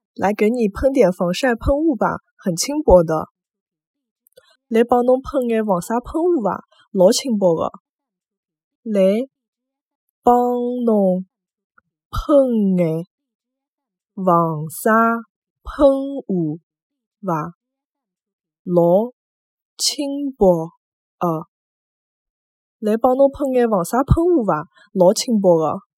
来给你喷点防晒喷雾吧，很轻薄的。来帮侬喷眼防晒喷雾吧，老轻薄的。来帮侬喷眼防晒喷雾吧，老轻薄的。来帮侬喷眼防晒喷雾吧，老轻薄的。